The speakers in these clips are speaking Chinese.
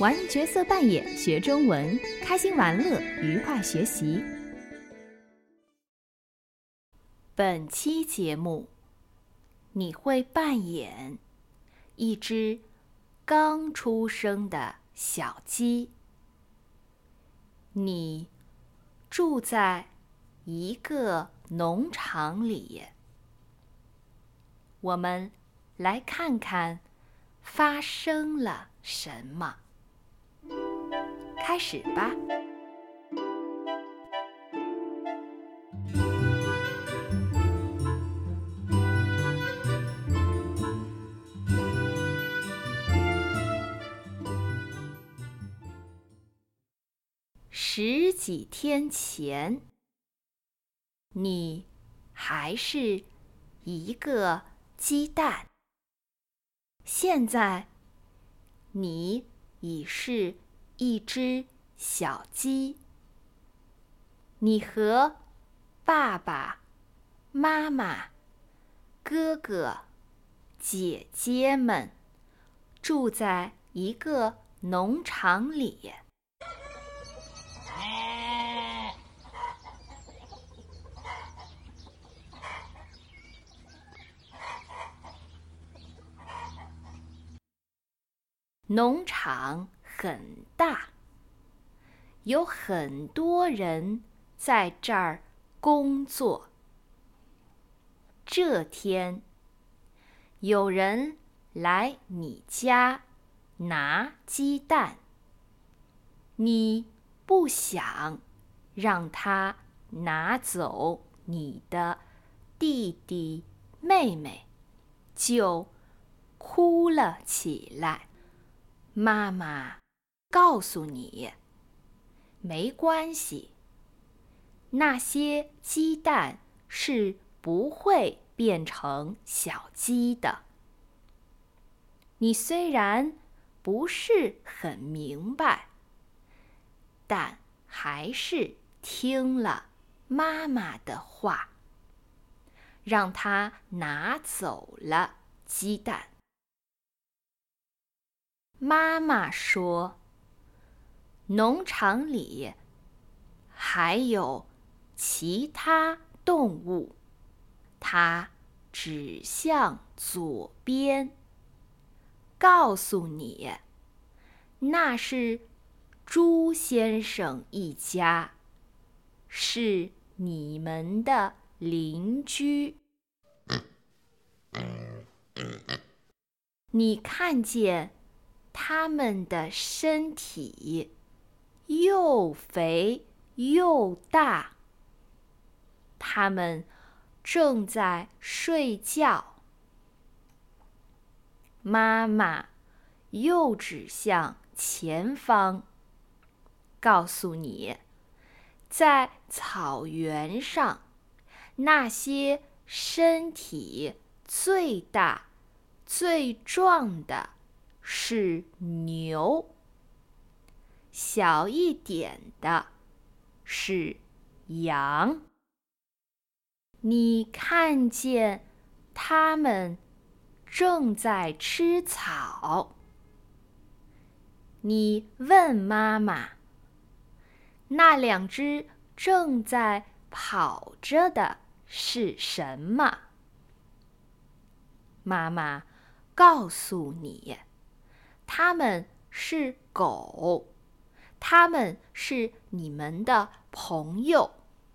玩角色扮演学中文，开心玩乐，愉快学习。本期节目，你会扮演一只刚出生的小鸡。你住在一个农场里。我们来看看发生了什么。开始吧。十几天前，你还是一个鸡蛋，现在你已是一只小鸡。你和爸爸妈妈、哥哥、姐姐们住在一个农场里。农场很大，有很多人在这儿工作。这天，有人来你家拿鸡蛋，你不想让他拿走你的弟弟妹妹，就哭了起来。妈妈告诉你，没关系，那些鸡蛋是不会变成小鸡的。你虽然不是很明白，但还是听了妈妈的话，让她拿走了鸡蛋。妈妈说，农场里还有其他动物。她指向左边，告诉你，那是猪先生一家，是你们的邻居。你看见他们的身体又肥又大，他们正在睡觉。妈妈又指向前方，告诉你，在草原上，那些身体最大、最壮的是牛，小一点的是羊。你看见它们正在吃草。你问妈妈，那两只正在跑着的是什么？妈妈告诉你，它们是狗，它们是你们的朋友。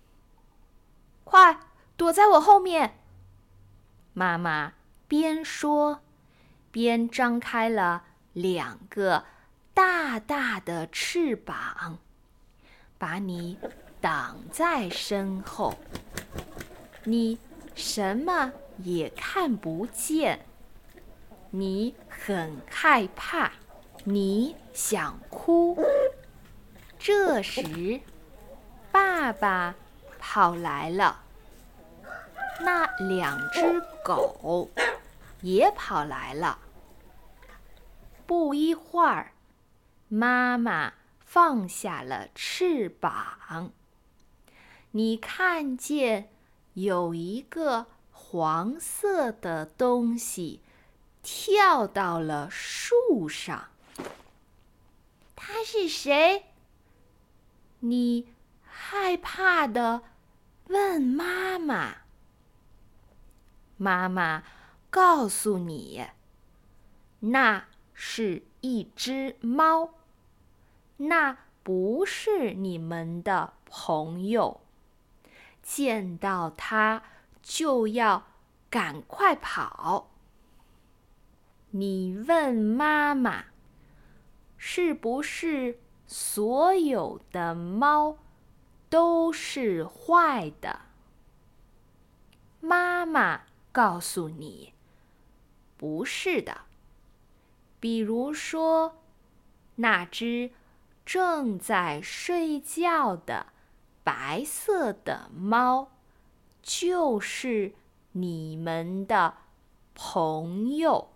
快躲在我后面！妈妈边说，边张开了两个大大的翅膀，把你挡在身后。你什么也看不见，你很害怕，你想哭。这时，爸爸跑来了，那两只狗也跑来了。不一会儿，妈妈放下了翅膀。你看见有一个黄色的东西跳到了树上。 他是谁？你害怕地问妈妈。妈妈告诉你，那是一只猫，那不是你们的朋友，见到它就要赶快跑。你问妈妈，是不是所有的猫都是坏的？妈妈告诉你，不是的。比如说，那只正在睡觉的白色的猫，就是你们的朋友。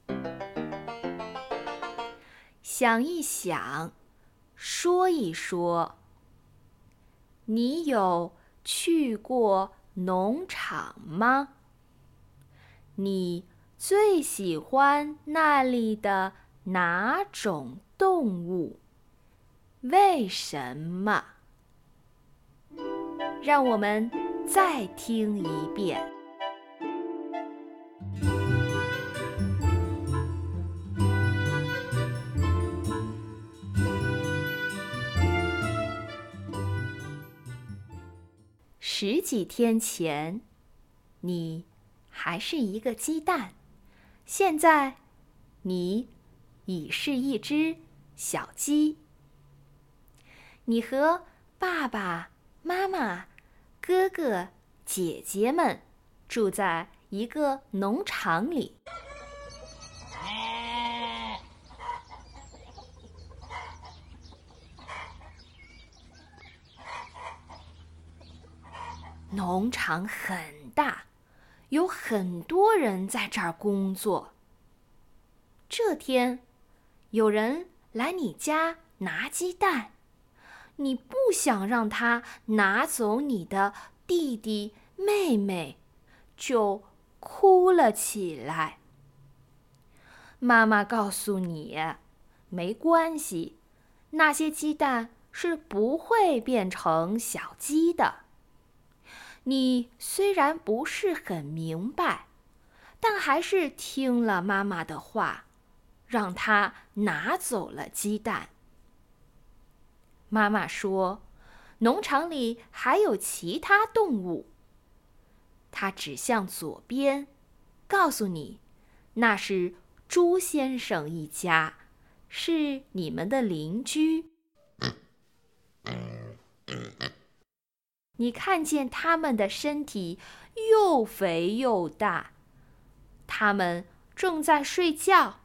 想一想，说一说，你有去过农场吗？你最喜欢那里的哪种动物？为什么？让我们再听一遍。十几天前，你还是一个鸡蛋，现在你已是一只小鸡。你和爸爸妈妈、哥哥姐姐们住在一个农场里。农场很大，有很多人在这儿工作。这天，有人来你家拿鸡蛋，你不想让他拿走你的弟弟妹妹，就哭了起来。妈妈告诉你，没关系，那些鸡蛋是不会变成小鸡的。你虽然不是很明白，但还是听了妈妈的话，让她拿走了鸡蛋。妈妈说，农场里还有其他动物。她指向左边，告诉你，那是猪先生一家，是你们的邻居。你看见他们的身体又肥又大，他们正在睡觉。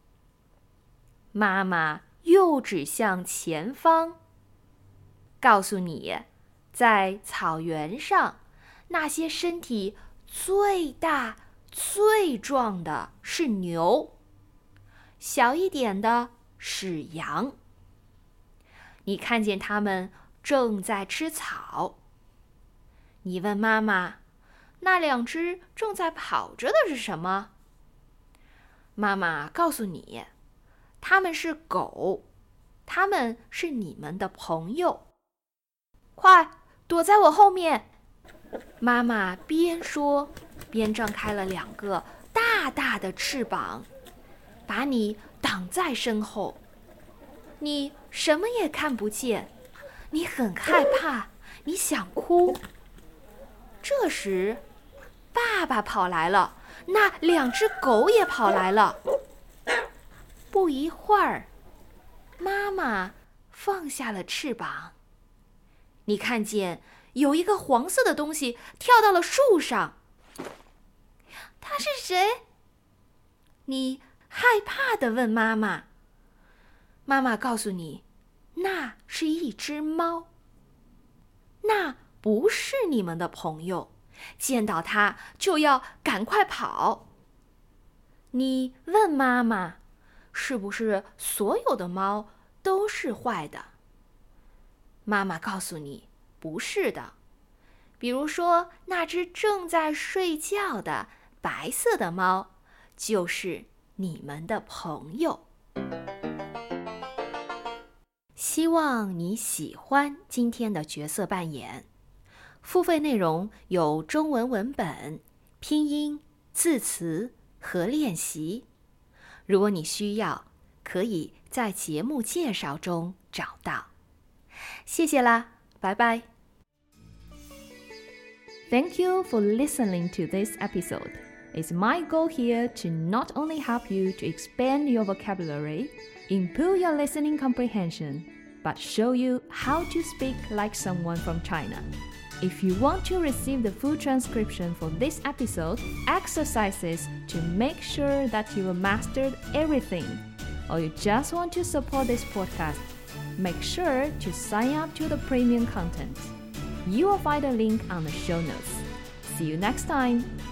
妈妈又指向前方，告诉你，在草原上，那些身体最大、最壮的是牛，小一点的是羊。你看见他们正在吃草。你问妈妈，那两只正在跑着的是什么？妈妈告诉你，它们是狗，它们是你们的朋友。快，躲在我后面！妈妈边说，边张开了两个大大的翅膀，把你挡在身后。你什么也看不见，你很害怕，你想哭。这时，爸爸跑来了，那两只狗也跑来了。不一会儿，妈妈放下了翅膀。你看见有一个黄色的东西跳到了树上。它是谁？你害怕地问妈妈。妈妈告诉你，那是一只猫。那不是你们的朋友，见到它就要赶快跑。你问妈妈，是不是所有的猫都是坏的？妈妈告诉你，不是的。比如说，那只正在睡觉的白色的猫，就是你们的朋友。 希望你喜欢今天的角色扮演。付费内容有中文文本、拼音、字词和练习。如果你需要，可以在节目介绍中找到。谢谢啦，拜拜。Thank you for listening to this episode. It's my goal here to not only help you to expand your vocabulary, improve your listening comprehension, but show you how to speak like someone from China. If you want to receive the full transcription for this episode, exercises to make sure that you have mastered everything, or you just want to support this podcast, make sure to sign up to the premium content. You will find a link on the show notes. See you next time!